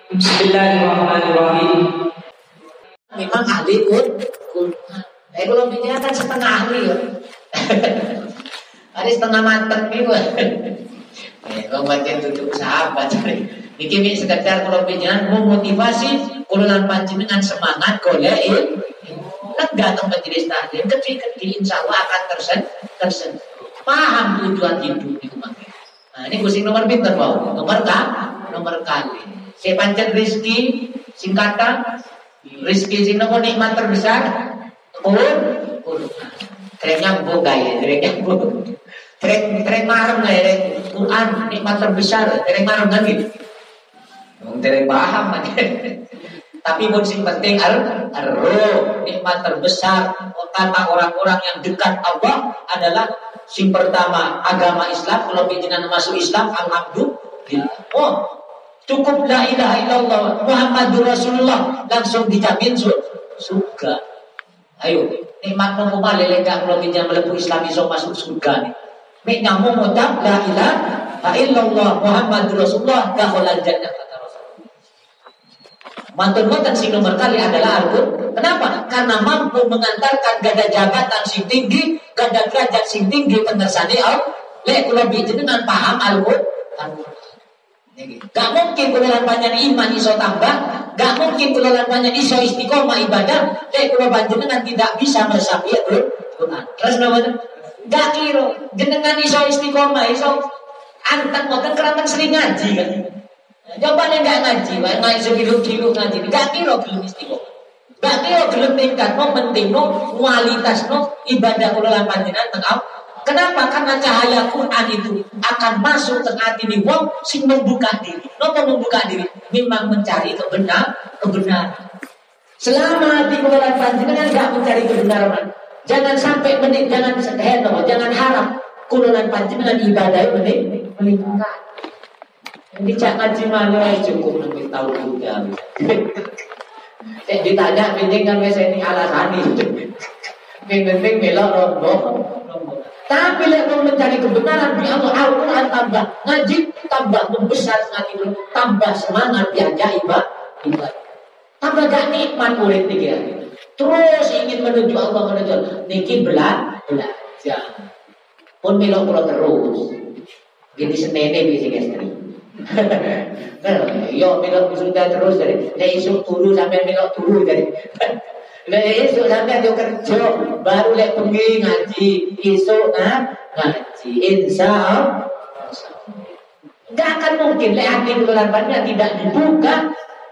Bismillahirrahmanirrahim. Memang ahli Quran. Kalau bicara kan setengah ahli ya. Ada setengah mateng nih wah. Kalau baca tutup sahabat. Niki mi sekedar kalau bicara memotivasi kululan panjenengan semangat golek kan datang majelis taklim kecil-kecil insya Allah akan tersen paham tujuan hidup itu mah. Nah ini kucing nomor pinter mau nomor kali. Saya pancen rizki singkatan rizki sing nopo nikmat terbesar Kerennya bu gaya, kerennya bu keren marem ya Quran nikmat terbesar, keren marem kan gitu. Keren paham kan. Tapi pun sing penting ar-ruh nikmat terbesar kata orang-orang yang dekat Allah adalah sing pertama agama Islam. Kalau pimpinan masuk Islam alhamdulillah. Oh cukup la ilaha illallah Muhammadur Rasulullah langsung dijamin surga. Ayo nikmat nopo malih lek kalau pinjam mlebu Islam iso masuk surga nih. Mek nyamuk ngucap la ilaha illallah Muhammadur Rasulullah dakhalal jannah kata Rasulullah. Mantun sing nomor kali adalah Al-Qur'an. Kenapa? Karena mampu mengantarkan gada jabatan sing tinggi, gada derajat sing tinggi pengersane Allah. Lek kula dengan paham Al-Qur'an. Gak mungkin kula panjang iman iso tambah, gak mungkin kula panjang iso istiqomah ibadah, kula panjenengan tidak bisa meresapi Al-Qur'an. Terus napa? Gak kira jenengan iso istiqomah, iso anteng mboten keranten sering ngaji kan. Coba nek gak ngaji, wae ngaji segilu-gilu ngaji, gak kira gelem istiqomah. Gak kira gelem tingkatno pentingno kualitasno ibadah kula panjenengan teng. Kenapa? Karena cahaya Quran itu akan masuk ke hati ni wong sing membuka diri. Napa membuka diri? Memang mencari kebenaran. Selama hati kula panjenengan enggak mencari kebenaran, jangan sampai jangan harap kula panjenengan ibadah meningkat. Ini cak ngaji mana cukup lebih tahu juga. Ditanya penting kan wis ini alasan ini. Penting melok rondo. Tapi lek mau mencari kebenaran di Allah Al-Quran tambah ngaji, tambah membesar hati, tambah semangat diajak ibadah. Tambah gak nikmat urip niki. Terus ingin menuju Allah niki belajar. Pun melok kula terus. Gini senene iki sing istri. Yo melok sudah terus dari esuk turu sampai melok turu dari esok sampai dia kerja baru lek pergi ngaji esok ngaji insya Allah nggak akan mungkin lek hati kelambannya tidak dibuka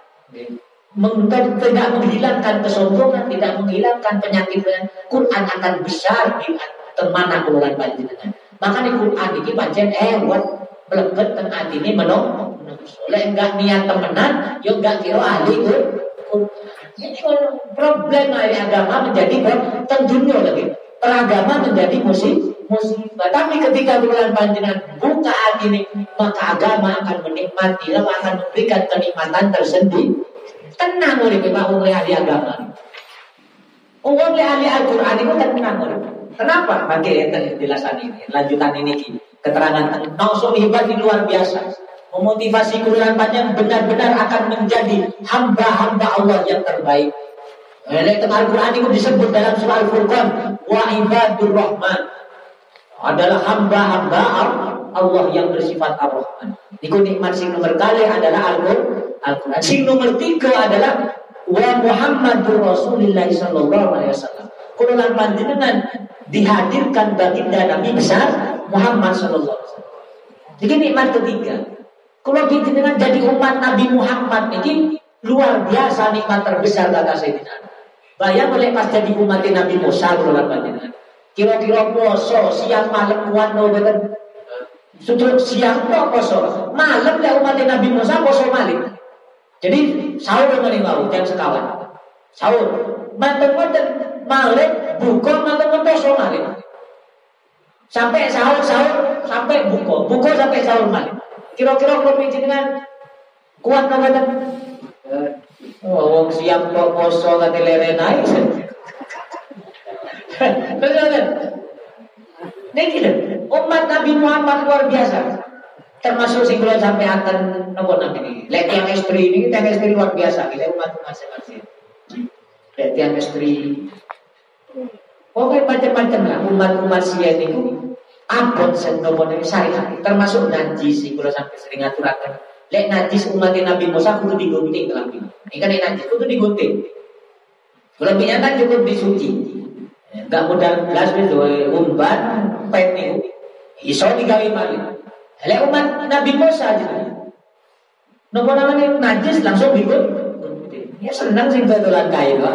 tidak menghilangkan kesombongan, tidak menghilangkan penyakit Quran akan besar di temana kelulan panjenengan. Makanya Quran ini pancen buat melebet teng atine menolong. Lek enggak niat temenan yo enggak kira ahli Quran. Ini problem dari agama menjadi tentunya lagi peragama menjadi musibah. Tapi ketika bulan panjenengan buka hati ini, maka agama akan menikmati, akan memberikan kenikmatan tersendiri. Tenang oleh Pak oleh ahli agama. Oleh ahli Al-Quran itu tenang oleh. Kenapa? Bagi penjelasan ini, lanjutan ini keterangan nausul hebat di luar biasa. Memotivasi kuliah panjang benar-benar akan menjadi hamba-hamba Allah yang terbaik. Al-Quran itu disebut dalam surah Al-Furqan wa ibadur rahman adalah hamba-hamba Allah yang bersifat ar-Rahman. Itu nikmat sing nomor kali adalah Al-Quran. Sing nomor 3 adalah wa Muhammadur Rasulullah sallallahu alaihi wasallam. Kuliah panjenengan dihadirkan baginda Nabi besar Muhammad sallallahu alaihi wasallam. Jadi nikmat ketiga. Kalau kita dengan jadi umat Nabi Muhammad ini luar biasa nikmat terbesar kata Sayyidina. Bayang oleh pas jadi umat Nabi Musa kalau panjenengan. Kira-kira poso siang malam kuat no betul. Sudah siang poso, malam le umat Nabi Musa poso malam. Jadi sahur dengan mau jam sekawan. Sahur, manten-manten malam buka manten poso malam. Sampai sahur sampai buka sampai sahur malam. Kira-kira kalau dengan kuat nggak? Wong siap kok poso kate lerenai. Betul. Nih umat Nabi Muhammad luar biasa. termasuk sing kula sampai akan nopo namanya lek yang istri ini tiang istri luar biasa kita umat masing-masing lek tiang istri pokoknya macam-macam lah umat sian itu abot sen nopo namanya syariat termasuk najis sing kula sampai sering aturaken lek najis umat Nabi Musa kudu digunting kelambi ini kan najis kudu digunting kelambinya kan cukup disuci enggak modal belas itu umban pet niku iso digawe malih lek umat Nabi Musa aja. Napa namanya najis langsung digunting. Ya senang sing dodolan kae to.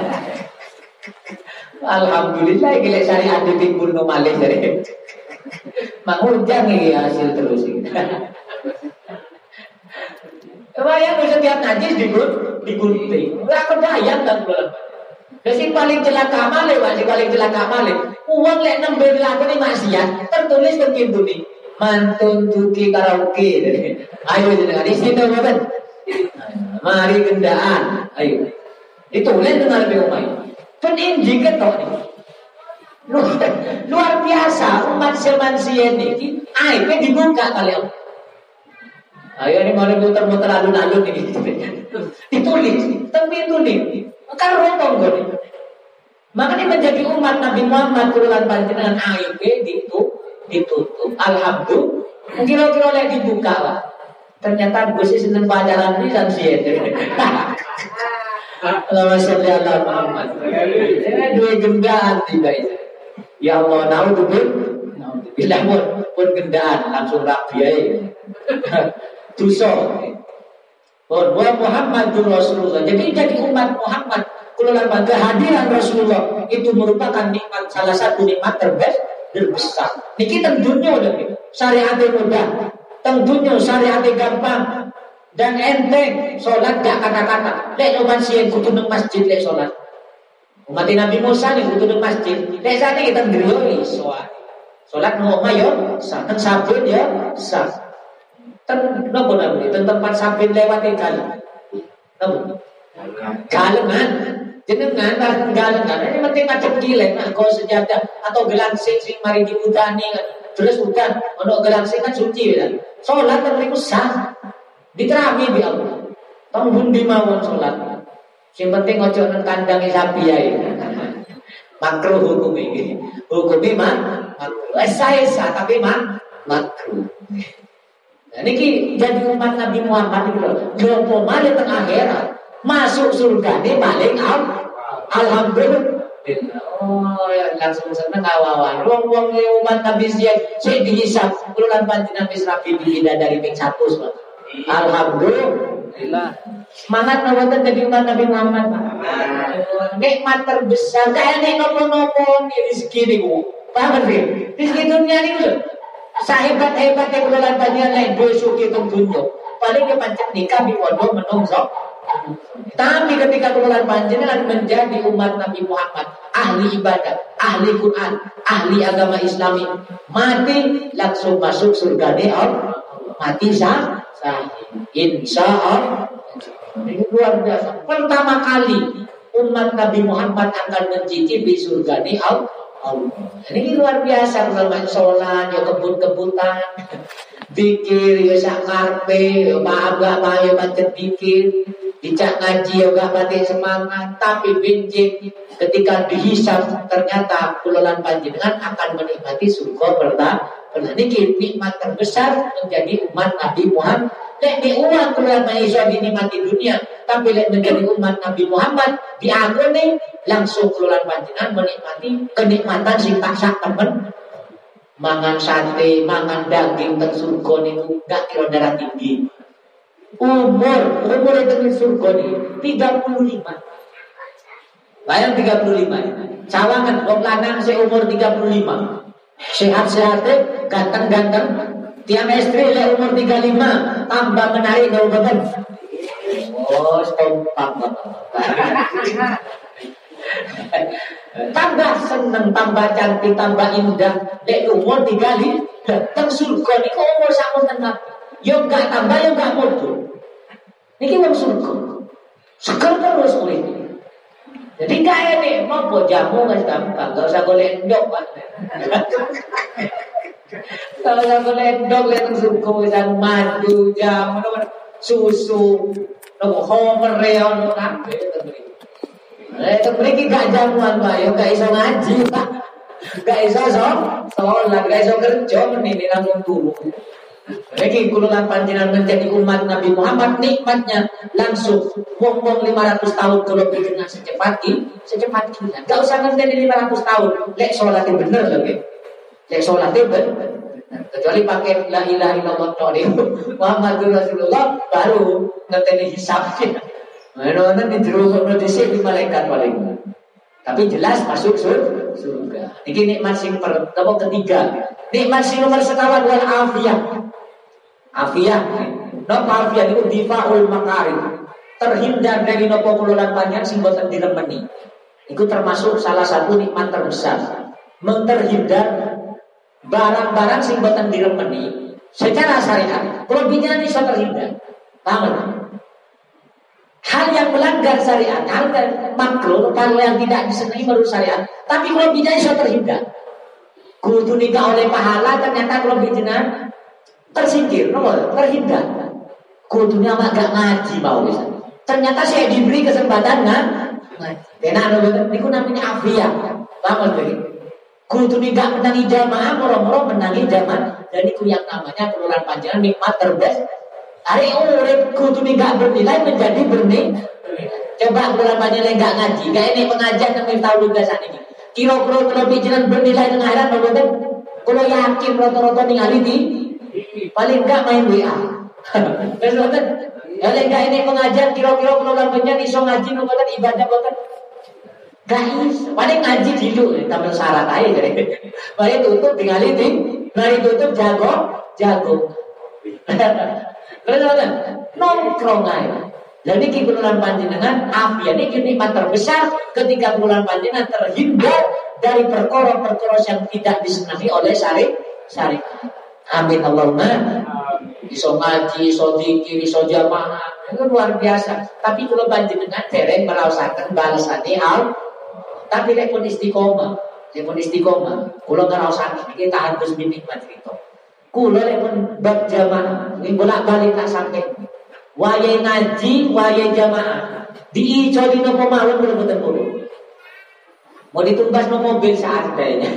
Alhamdulillah iki lek syariat ditimbul no malih jare. Mangujang iki hasil terus iki. Wayang setiap najis digunting. Ora kedayang kan kula. Sing paling celaka malih, sing paling celaka malih. Uang lek nembe dilakoni maksiat, tertulis teng kintune. Mantun tuki karaoke. Ayo jenengan di situ mboten. Mari gendaan. Ayo. Ditulis dengan lebih umai. Pun injing ketok nih. Luar biasa umat semansia ini. Ayo dibuka kalian. Ayo ini mau muter-muter alun-alun ini. Ditulis. Tapi tulis. Kan rotong gue. Makanya menjadi umat Nabi Muhammad kurulan panjenengan ayo ditutup. Alhamdulillah. Kira-kira lagi dibuka lah. Ternyata gue sih seneng pacaran pisan sih. Allahumma sholli ala Muhammad. Dua gendaan tiba itu. Ya Allah, naudzubillah. Bila pun gendaan langsung rapi aja. Dosa. Bahwa Muhammadur Rasulullah. Jadi umat Muhammad kulolan kehadiran Rasulullah itu merupakan nikmat, salah satu nikmat terbesar. Niki tentunya udah syariatnya mudah, tentunya syariatnya gampang dan enteng. Sholat gak kata-kata. Lek umat sien kudu nang masjid lek sholat. Umat Nabi Musa nih kudu nang masjid. Lek sana kita ngriyo sholat nang omah yo, saten sabun ya sah. Napa namanya? Tempat sabun lewat kali. Napa? Galengan. Jenengan galengan. Ini penting ngadep gilek nah kau sejadah atau gelangsing sing mari diudani kan. Terus udan ono gelangsing kan suci kan. Salat kan niku sah. Diterami bi Allah. Tanggung di mawon salat. Sing penting ojo nang kandange sapi ae. Makruh hukum iki. Hukume makruh. Esa tapi makruh. Nah, niki jadi umat Nabi Muhammad itu loh malih teng akhirat masuk surga ini paling alhamdulillah. Oh ya langsung seneng awawan. Wong-wong umat Nabi sing dihisab kululan panjenengan wis rapi bidadari ping 100 Pak. Alhamdulillah. Semangat nawatan jadi umat Nabi Muhammad. Nikmat terbesar kayak nek nopo-nopo rezeki niku. Paham nggih? Rezeki dunia niku sahebat-hebatnya kululan panjenengan lain dosa kita dunya. Paling ke pancet nikah di pondok menungso. Tapi ketika kululan panjenengan menjadi umat Nabi Muhammad, ahli ibadah, ahli Quran, ahli agama Islami, mati langsung masuk surga Allah. Mati sah, insya Allah. Ini luar biasa. Pertama kali umat Nabi Muhammad akan mencicipi surga Allah. Ini luar biasa. Kalau sholat, ya kebut-kebutan, zikir, ya sakarpe, ya gak mau macet zikir, dicak ngaji, ya gak mati semangat. Tapi benjik ketika dihisab ternyata kulolan panjenengan akan menikmati surga pertama. Ini nikmat terbesar menjadi umat Nabi Muhammad. Lek di umat kulolan manusia dinikmati dunia, tapi lek menjadi umat Nabi Muhammad diagone langsung kulolan panjenengan menikmati kenikmatan sing tak sak temen. Mangan sate, mangan daging teng surga niku gak kira darah tinggi. Umur teng surga niku 35. Bayang 35. Cawangan wong lanang seumur 35. Sehat-sehat, ganteng-ganteng. Tiang istri lek umur 35 tambah menarik no betul. Oh, kompak. Tambah seneng, tambah cantik, tambah indah. Lek umur 35 teng surga niku umur samonten nabi. Yo gak tambah yo gak mundur. Niki wong surga. Seger terus urip. Jadi kaya nih, mau jamu nggak gampang, nggak usah golek endok Pak. Kalau boleh dong lihat suku dan madu jam susu nopo homer reon kabeh terberi. Terberi gak jamuan Pak, yo gak iso ngaji Pak. Gak iso sholat, gak iso kerja menini langsung turu. Lagi kululan panjenengan menjadi umat Nabi Muhammad nikmatnya langsung wong 500 tahun kalau dengan secepat kilat. Gak usah ngenteni 500 tahun. Lek sholatnya bener lagi. Lek sholatnya bener. Kecuali pakai la ilaha illallah Muhammadur Rasulullah baru ngenteni hisabnya. Mana di jero dhisik di malaikat paling. Tapi jelas masuk surga. Ini nikmat sing ketiga. Nikmat sing nomor sekawan wal afiyah. Afiyah. Napa afiyah itu difaul makarim. Terhindar dari nopo kululan panjang sing boten diremeni. Itu termasuk salah satu nikmat terbesar. Menterhindar barang-barang sing boten diremeni secara syariat. Kalau bicara iso terhindar. Paham? Hal yang melanggar syariat, hal yang makruh, hal yang tidak disenangi menurut syariat, tapi kalau bicara iso terhindar. Kudu nikah oleh pahala, ternyata kalau bicara tersingkir, terhindar. Kudunya mah gak ngaji mau bisa. Ternyata saya diberi kesempatan ngaji. Enak niku namanya afiyah. Paham begitu? Kudu nikah menangi jamaah, moro-moro menangi jamaah, dan itu yang namanya kelurahan panjangan nikmat terbesar. Hari urip kudu nikah bernilai menjadi bernilai. Coba kelurahan panjangan enggak ngaji, gak ini pengajian yang tahu juga saat ini. Kira-kira kalau bicara bernilai dengan akhirat, kalau yakin rata-rata ningali di paling enggak main WA. Kalau enggak ini pengajian kira-kira kelurahan panjangan iso ngaji noboten ibadah boten. Guys, paling ngaji dulu, tampil syarat aja jadi. Mari tutup tinggal ini, mari tutup jago. Terus nongkrong aja. Jadi kebuluran panjenengan, afia ini nikmat terbesar ketika kebuluran panjenengan terhindar dari perkara-perkara yang tidak disenangi oleh syariat. Amin Allahumma. Iso ngaji, iso zikir, iso jamaah, itu luar biasa. Tapi kalau panjenengan dereng merasakan balasane tapi lek pun istiqomah, kula ngrasakake iki tahan terus nikmat itu. Kula lek pun bab jamaah, ini bolak-balik tak sampai. Wayahe ngaji, wayahe jamaah. Diicoli nopo mawon bener-bener puluh. Mau ditumbas no mobil seadanya.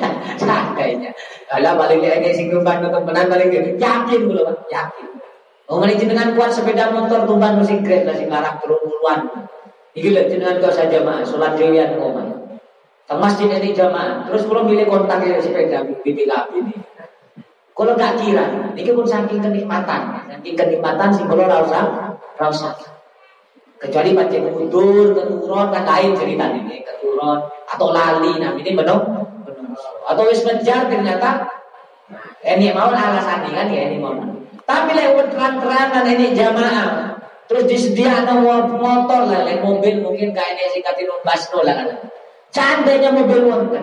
Kalau balik lagi sing tumbas no temenan balik yakin kula, yakin. Oh ngene jenengan kuat sepeda motor tumbas no sing grade lah sing larang 30-an. Iki lho jenengan kok saja jamaah salat dhewean omah. Ke masjid ini jamaah, terus kalau milih kontaknya sepeda BPKB ini. Kalau gak kira, ini pun saking kenikmatan sih kalau rasa. Kecuali pancen mundur, keturun kan lain cerita ini, keturun atau lali, nah ini benar. Atau wis menjar ternyata, ini mau alasan kan ya ini mau. Tapi lewat terang-terangan ini jamaah, terus disediakan motor lah, mobil mungkin kayak ini singkatin basno lah kan. Seandainya mobil wonten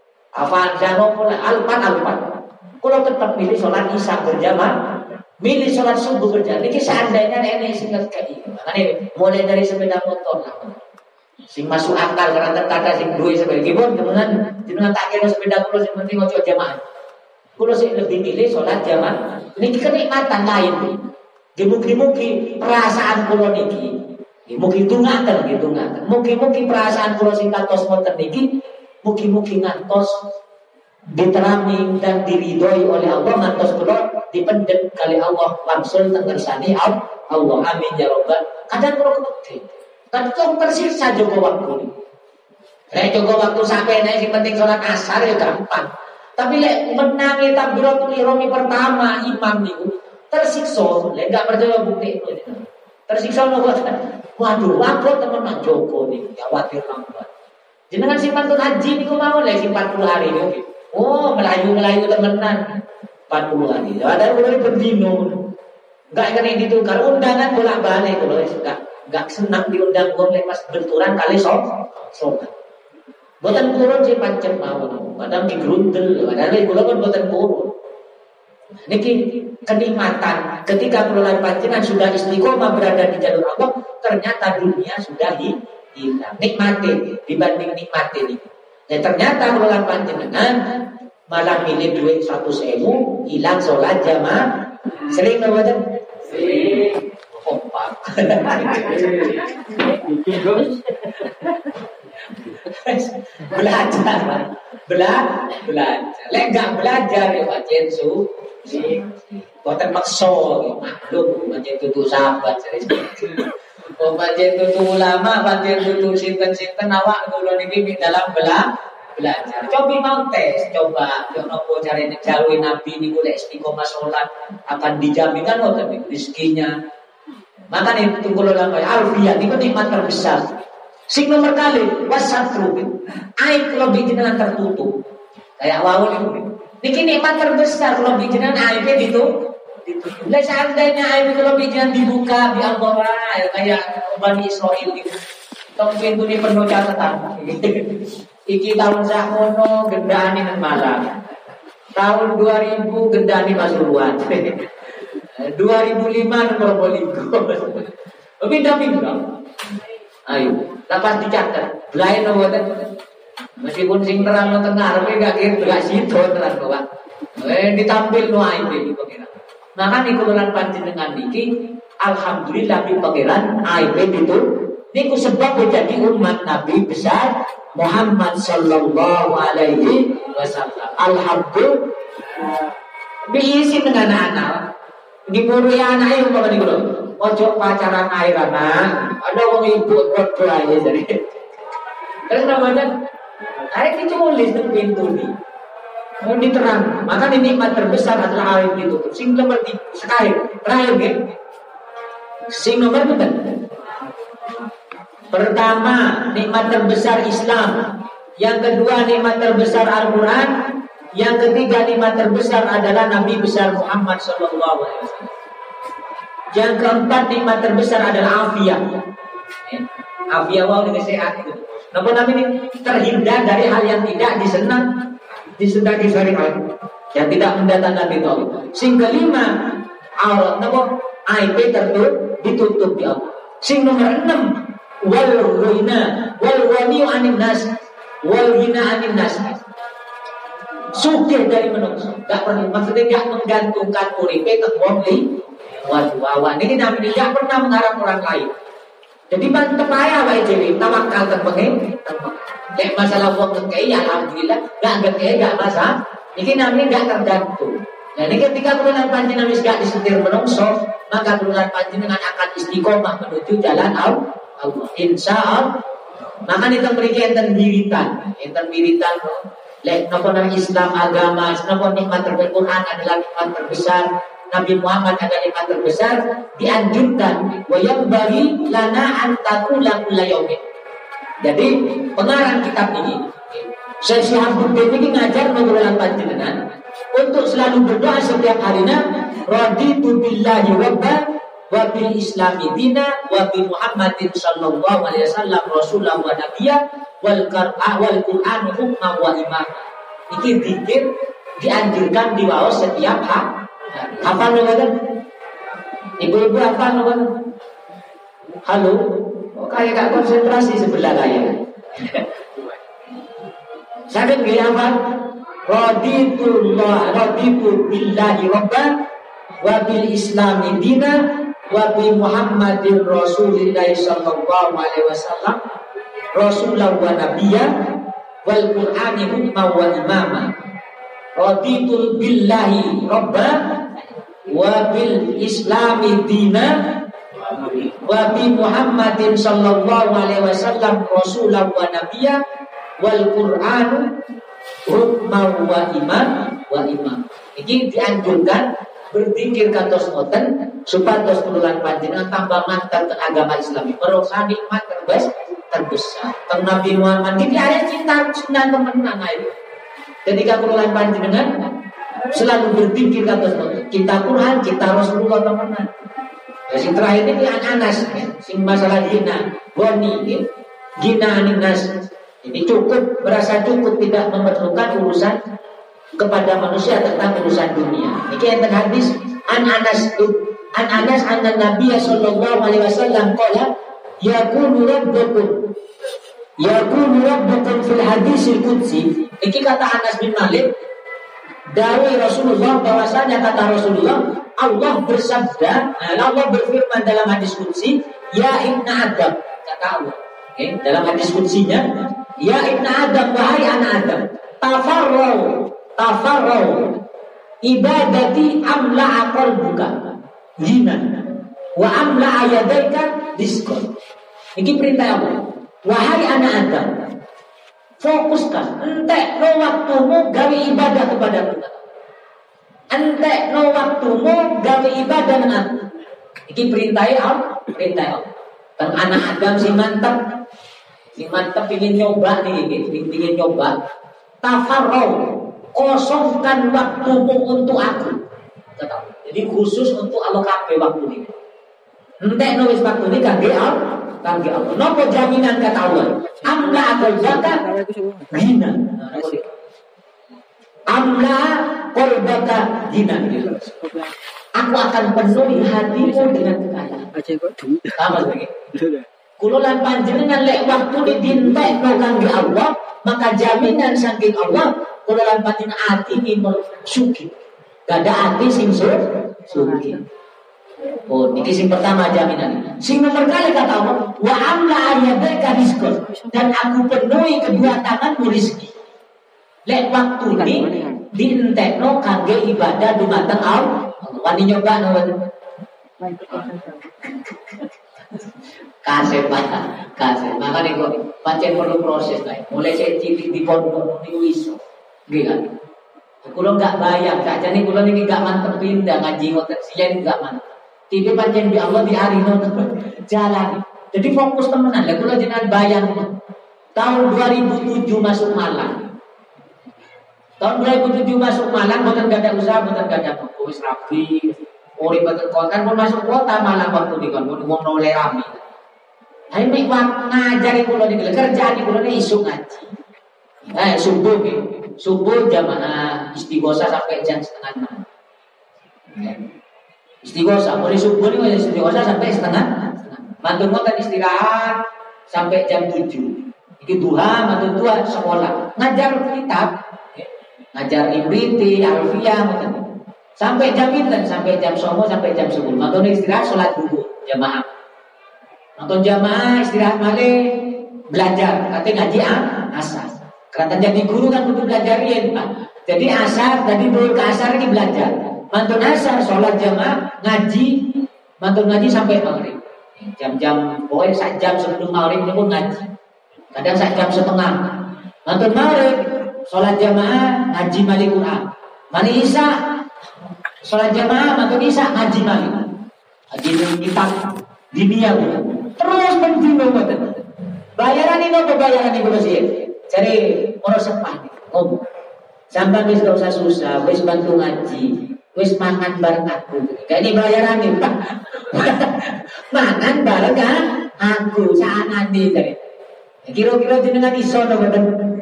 Avanza nopo Alphard. Kalau tetap milih sholat isya berjamaah, milih sholat subuh berjamaah. Ini seandainya nenek singkat kayak ini. Makanya mulai dari sepeda motor lah. Sing masuk akal karena terkadang sing duwe sepeda gimana dengan tak kira sepeda kulo sing penting ojo jamaah. Kulo sih lebih milih sholat jamaah. Ini kenikmatan lain. Mugi-mugi perasaan kulo niki. Mugi tungaken. Mugi-mugi perasaan kula sing kantos wonten niki mugi-mugi ngantos diterami dan diridhoi oleh Allah, ngantos kula dipendhet kali Allah langsung teng ngersani Allah. Amin ya rabbal. Kadang kula kepedhe. Kadang tersiksa jaga waktu. Lek jaga waktu sampai nek sing penting salat asar ya gampang. Tapi lek menangi takbiratul ihram pertama imam niku tersiksa. Lek gak percaya bukti itu. Tersiksa nopo. Waduh, teman Joko nih, khawatir lambat. Jenengan simpan tuh haji niku mawon lek 40 hari niku. Oh, melayu temenan 40 hari. Ada mulai bendino. Enggak kena ditukar undangan bolak-balik kalau enggak senang diundang wong lek pas benturan kali sobat. Boten kurun sih pancen mawon. Padahal digrundel, padahal kula pun boten kurun. Niki kenikmatan ketika keluar panjenengan sudah istiqomah berada di jalur Allah, ternyata dunia sudah hilang. Nikmati dibanding nikmati ini. Dan ternyata keluar panjenengan malah milih duit 100.000 hilang sholat jamaah. Sering nggak betul? Sering. Kompak. Belajar. Lek nggak belajar ya pancen boten makso maklum pancen tutu sahabat oh pancen tutu ulama pancen tutu sinten-sinten awak kula niki dalam belajar. Coba mau tes, coba yo nopo carane jalui nabi niku lek istiqomah salat akan dijaminkan ngoten niku rezekinya. Makanya itu kula lampai alfiyah niku nikmat terbesar. Sing nomor kali wasatru aib lebih jenengan tertutup. Kayak wau niku. Niki nikmat terbesar kalau bijinan aibnya ditutup. Lah seandainya aib kalau bijinan dibuka di Al-Qur'an kayak Bani Israil itu. Tong pintu ini penuh catatan. Iki tahun sakono gendane nang Malang. Tahun 2000 gendane Pasuruan. 2005 nang Probolinggo. Pindah-pindah. Ayo, lepas dicatat. Belain mboten. Meskipun sing terang no tengah, tapi gak situ terang no Pak. Ditampil no aib ini pengiran. Maka nikululan panjenengan niki, alhamdulillah di pengiran aib itu. Niku sebab menjadi umat Nabi besar Muhammad Sallallahu Alaihi Wasallam. Alhamdulillah. Diisi dengan anak. Dimurui anak itu apa nih bro? Ojo pacaran air anak. Ada orang ibu berdoa ya jadi. Terus Ramadan. Air diculis di pintu nih. Mau diterang. Maka nikmat terbesar adalah air ditutup. Sing nomor sekali terakhir nih. Sing nomor betul. Pertama nikmat terbesar Islam. Yang kedua nikmat terbesar Al-Quran. Yang ketiga nikmat terbesar adalah Nabi besar Muhammad Sallallahu Alaihi Wasallam. Yang keempat nikmat terbesar adalah afiat. Afiat wow dengan sehat itu. Namun Nabi ini terhindar dari hal yang tidak disenangi syariat, yang tidak mendatangkan ridho Allah. Sing kelima, aurat namun aib ditutup di Allah. Sing nomor 6, wal wani anin nas, wal ghina anin nas. Sugih dari manusia, enggak pernah maksudnya enggak menggantungkan uripe teng wong li. Waduh, ini namanya enggak pernah mengharap orang lain. Jadi mantep aja wae dhewe tawakal teng pengen. Nek masalah wong ngekei alhamdulillah, enggak ngekei enggak masalah. Iki namanya enggak tergantung. Nah, ini ketika turunan panjenengan wis gak disetir menungso, maka turunan panjenengan akan istiqomah menuju jalan Allah. Insyaallah. Maka kita berikan enten wiritan. Lek napa nang Islam agama, napa nikmat terbesar Quran adalah nikmat terbesar. Nabi Muhammad adalah nikmat terbesar, dianjurkan wa yanbaghi lana an taqula kulla yaumin. Jadi pengarang kitab ini Syekh Syihabuddin ini ngajar mengulang panjenengan untuk selalu berdoa setiap harinya raditu billahi rabba wa bil islami dina wa bi Muhammadin sallallahu alaihi wasallam rasulah wa nabiyya wal Qur'an hukma wa imam. Iki zikir dianjurkan diwaos setiap hari. Hafal kan? Ibu-ibu hafal kan? Halo? Oh, kayak gak konsentrasi sebelah kayak. Sakit gak hafal? Raditu billahi rabban wa bil islami dina wa bi Muhammadin Rasulillah sallallahu alaihi wasallam rasulah wa nabiyya wal Qur'ani hukma wa imama. Raditu billahi rabba wa bil islami dina wa bi Muhammadin sallallahu alaihi wasallam rasulah wa nabiyya wal Qur'anu hukma wa imam. Ini dianjurkan berzikir kantos ngoten supados turunan panjenengan tambah mantap ke agama Islam. Merasa nikmat terbesar. Teng Nabi Muhammad ini ada cinta temenan ae. Ketika turunan panjenengan selalu berzikir kantos ngoten. Cinta Quran, cinta Rasulullah temenan. Yang terakhir ini Anas, sing masalah gina, gina anas. Ini cukup, merasa cukup tidak memerlukan urusan kepada manusia tentang urusan dunia. Ini yang hadis an Anas anna Nabi sallallahu alaihi wasallam qala yakunu rabbukum fil hadisil qudsi. Ini kata Anas bin Malik, Dawai Rasulullah bahwasanya kata Rasulullah Allah bersabda, Allah berfirman dalam hadis qudsi, ya ibnu Adam, kata Allah. Okay? Dalam hadis qudsinya, ya ibnu Adam, wahai anak Adam, tafarrau ibadati amla qalbuka hina wa amla yadaika rizqan. Ini perintah Allah. Wahai anak Adam, fokuskan entek no waktumu gawe ibadah kepada Allah. Entek no waktumu gawe ibadah dengan aku. Iki perintah Allah, perintah Allah. Teng anak Adam si mantap ingin nyoba nih, ingin nyoba. Tafarrau, kosongkan waktumu untuk aku. Jadi khusus untuk Allah kabeh waktu ini. Entek no wis waktu ini kangge Allah. Kangge Allah. Napa jaminan kata Allah? Amla qalbaka ghina. Amla qalbaka ghina. Aku akan penuhi hatimu dengan kekayaan. Sama lagi. Kulo lan panjenengan lek waktu ditintekno kangge Allah, maka jaminan saking Allah kulo lan panjenengan atine sugih. Gada ati sing sugih. Oh, ini sing pertama jaminan. Sing nomor kali kata Allah, wa amla ayyadaka rizqan, dan aku penuhi kedua tanganmu rezeki. Lek waktu ini dientekno kangge ibadah dumateng Allah. Wani nyoba nawan. Kasih. Makanya kok pancen perlu proses kae. Mulai saya cilik di pondok niku iso. Nggih kan? Kulo enggak bayang, sakjane kulo niki enggak mantep pindah ngaji ngoten siyen enggak mantep. Tipe pancen di Allah di hari jalan. Jadi fokus temenan. Lah kula jenengan bayang tahun 2007 masuk Malang. Tahun 2007 masuk Malang boten gada usaha, boten gada apa. Wis rapi. Urip boten kota pun masuk kota Malang waktu dikon wong oleh rame. Ayo mek ngajari kula niki kerjaan kula niki isuk ngaji. Subuh nggih. Subuh jamaah istighosah sampai jam 5:30. Istighosah, mulai subuh ini istighosah sampai setengah. Mantu ngoten istirahat sampai jam 7. Iki duha, mantu tua sekolah. Ngajar kitab, ngajar Ibriti, Alfiyah ngoten. Sampai jam pinten? Sampai jam 9 sampai jam 10. Mantu istirahat salat dulu jamaah. Mantu jamaah istirahat malih belajar, katanya ngaji asar. Karena jadi guru kan kudu belajarin, Pak. Jadi asar, tadi dulu ke asar ini belajar. Mantun asar, sholat jamaah, ngaji, mantun ngaji sampai maghrib. Jam-jam, pokoknya 1 jam sebelum maghrib ini pun ngaji. Kadang 1 jam setengah. Mantun maghrib, sholat jamaah, ngaji malik Quran. Mari isya, sholat jamaah, mantun isya, ngaji malik. Ngaji kitab dunia. Terus penting banget. Bayaran ini apa bayaran ini masih? Cari orang sepah ngomong. Sampai wis gak usah susah, wis bantu ngaji. Wis mangan bareng aku. Kayak ini bayaran nih, Pak. Mangan bareng aku saat nanti tadi. Kira-kira jenengan iso to mboten?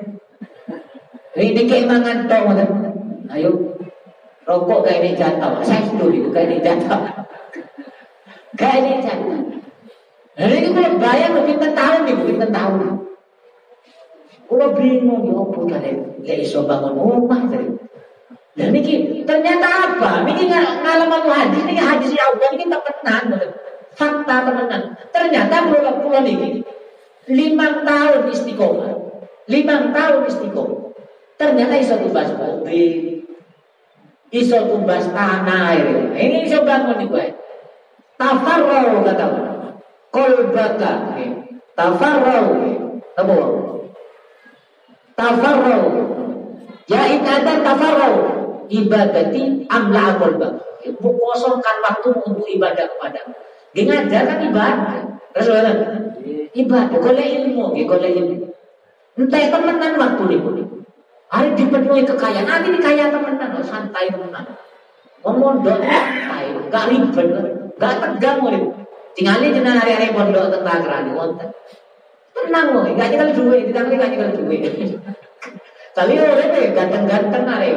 Ini kayak mangan tok mboten. Ayo. Rokok kayak ini jatuh. Saya dulu kayak ini jatuh. Kayak ini jatuh. Nah, ini kalau bayar pinten tahun nih, pinten tahun. Kalau bingung ya opo kalian lek iso bangun rumah tadi. Dan ini ternyata apa? Ini ngalaman hadis, ini hadis ya Allah ini temenan, fakta temenan. Ternyata pulau ini 5 tahun istiqomah, 5 tahun istiqomah. Ternyata iso tumbas mobil, iso tumbas tanah. Ini iso bangun nih gue. Tafarrau kata Allah. Kolbaka, tafarrau, apa? Tafarrau, ya ibadah tafarrau. Ibadati amla qalbak. Kosongkan waktu untuk ibadah kepadamu. Dia ngajarkan ibadah. Rasulullah ibadah, golek ilmu, golek ilmu. Entah temenan waktu ini. Hari dipenuhi kekayaan, nanti ini kaya temenan, santai temenan. Ngomong dong, santai, gak ribet, gak tegang murid. Tinggalin jenang hari-hari pondok tentang kerani, wonten. Tenang murid, gak nyekel duit, ditangani gak nyekel duit. Tapi orang itu ganteng-ganteng hari.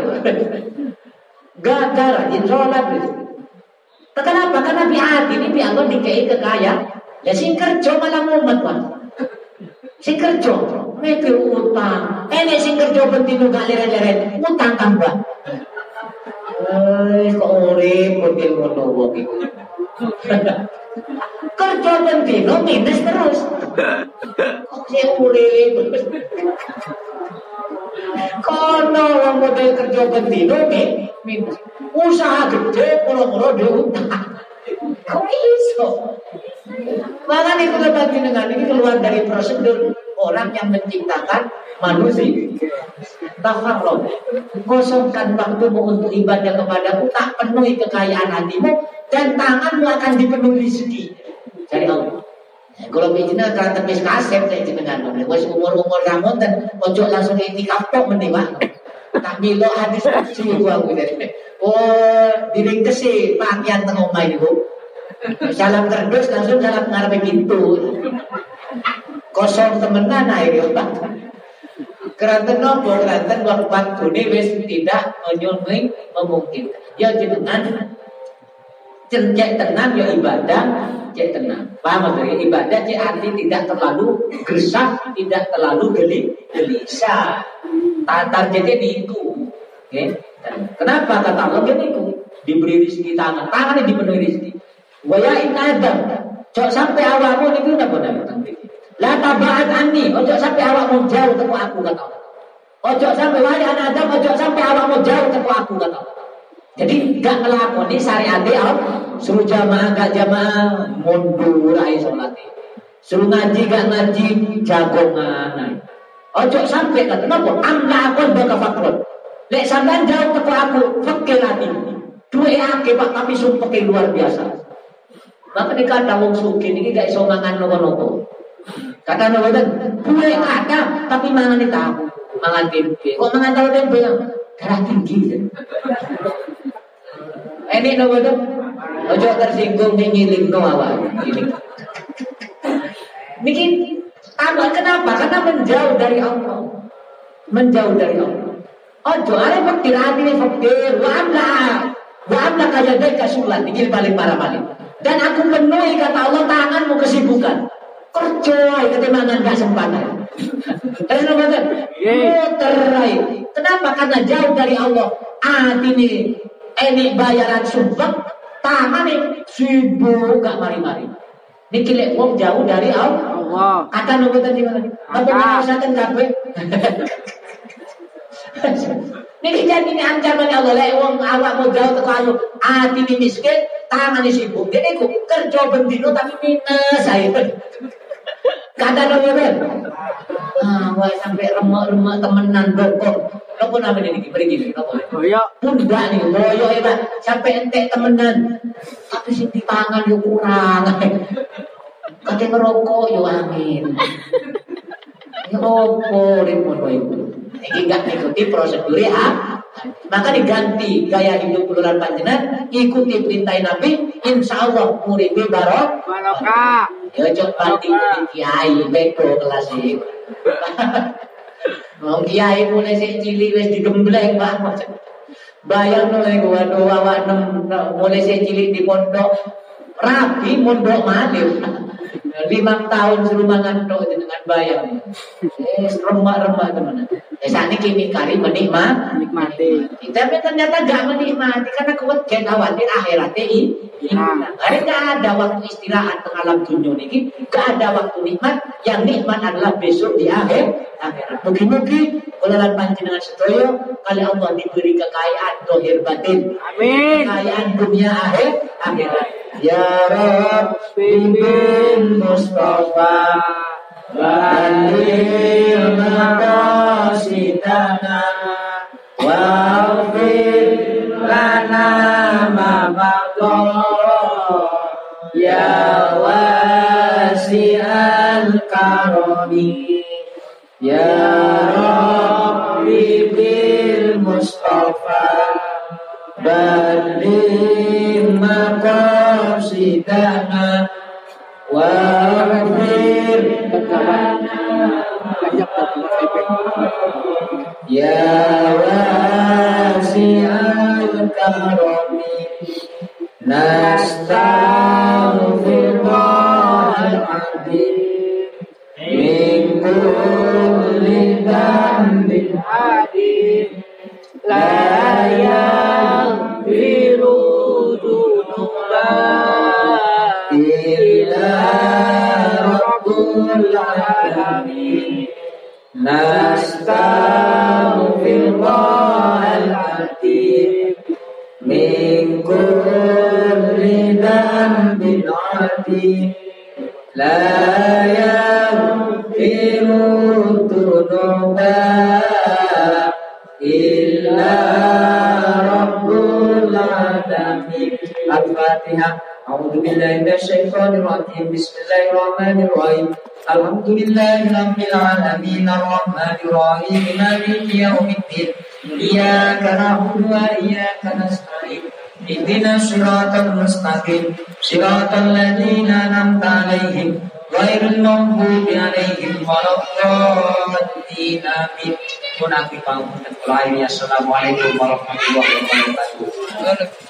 Gagal rajin sholat. Kenapa? Karena hati ini Allah dikei kekayaan. Ya sing kerja malah mumet Pak. Sing kerja mikir utang. Sing kerja bentino gak leren-leren utang tambah. Kok urip model ngono wong iku. Kerja bendino minus terus. Kok sing urip. Kono wong model kerja bendino minus. Usaha gede pura-pura diutang. Kok iso? Makanya itu dengan ini keluar dari prosedur orang yang menciptakan manusia. Tafarraq, kosongkan waktumu untuk ibadah kepadaku, tak penuhi kekayaan hatimu, dan tanganmu akan dipenuhi rezeki dari Allah. Kalau begini kerana wis kasep saya jenengan, wis umur kamu dan ojo langsung itikaf tok mending Pak. Tak milo hadis sungguh aku dari. Oh, diringkesi pakaian teng omah niku. Salam kerdus langsung salam ngarepe pintu. Kosong temenan ae Pak. Keranten nopo keranten waktu ini wis tidak memungkinkan. Ya jenengan cek tenan ya ibadah cek tenan. Paham dari ibadah cek arti tidak terlalu gersah, tidak terlalu gelisah. Tatar jadi itu. Okay? Kenapa kata Allah itu diberi rezeki tangannya dipenuhi rezeki. Waya in Adam, cok sampai awakmu niku napa napa. La tabaat anni, ojo sampai awakmu jauh teko aku kata Allah. Ojo sampai waya Adam, ojo sampai awakmu jauh teko aku kata Allah. Jadi gak ngelakoni syariat Allah. Suruh jamaah gak jamaah mundur ae salate. Suruh ngaji gak ngaji jagongan. Ojo sampai kata napa? Amla akon baka fakron. Lek sampean jauh teko aku, fakir ati. Duwe akeh Pak tapi sumpah luar biasa. Maka dikata wong sugih niki gak iso mangan nopo-nopo. Kata nopo ten, duwe kata tapi mangan tahu, mangan tempe. Kok mangan tahu tempe darah tinggi. Ini nopo ten? Ojo tersinggung ngilingno awak. Niki tambah kenapa? Karena menjauh dari Allah. Menjauh dari Allah. Ojo arep fakir atine fakir, wa amla kajadai kasulan iki paling parah paling. Dan aku penuhi kata Allah tanganmu kesibukan. Kerja ketimbang gak sempat. Terus napa? Muterai. Kenapa? Karena jauh dari Allah. Ini bayaran sumpah, tangan ini sibuk gak mari-mari. Niki lek wong jauh dari Allah. Kata napa tadi mana? Apa maksudnya kabeh? Niki jadi ini ancaman Allah lek wong awakmu jauh teko aku, atine miskin, tangane sibuk. Dene ku kerja bendino tapi minus ae. Kata napa ben? Wae sampai remek-remek temenan dokter. Napa namanya niki mriki napa? Boyo. Pundak nih, boyo Pak. Sampai entek temenan. Tapi sing dipangan yo kurang. Kate ngerokok yo angin. Ya opo repot wae. Iki gak ikuti prosedur ya. Maka diganti gaya hidup keluaran panjenengan, ikuti perintah Nabi, insya Allah muribe barokah. Ya coba banding kiai beko kelas iki. Wong kiai mulai sik cilik wis digembleng Pak. Bayang oleh waduh awak mulai sik cilik di pondok rapi mondok malih. 5 tahun suruh mangan tok dengan bayang. Remak-remak teman. Sakniki mikari menikmati. Tapi ternyata gak menikmati karena keweden khawatir akhiratnya hari gak ada waktu istirahat tengah alam dunia niki, gak ada waktu nikmat. Yang nikmat adalah besok di akhirat. Mugi-mugi kula panjenengan sedaya kali Allah diberi kekayaan zahir batin. Amin. Kekayaan dunia akhirat. Ya Rabbi bin Mustafa Balil maqasidana Wa'afir lana ma baqa Ya wasi'al karami Ya Rabbi bil Mustafa Balil maqasidana Wa'afir Ya wasi'al karami Nastaghfirullahal azim Min kulli dhanbin adim La العالمين نستغفر الله العظيم من كل ذنب عظيم لا يغفر الذنوب إلا رب العالمين. الفاتحة. أعوذ بالله من الشيطان الرجيم. بسم الله الرحمن الرحيم. الحمد لله رب العالمين الرحمن الرحيم مالك يوم الدين إياك نعبد وإياك نستعين اهدنا الصراط المستقيم صراط الذين أنعمت عليهم غير المغضوب عليهم ولا الضالين آمين. Assalamualaikum warahmatullahi wabarakatuh.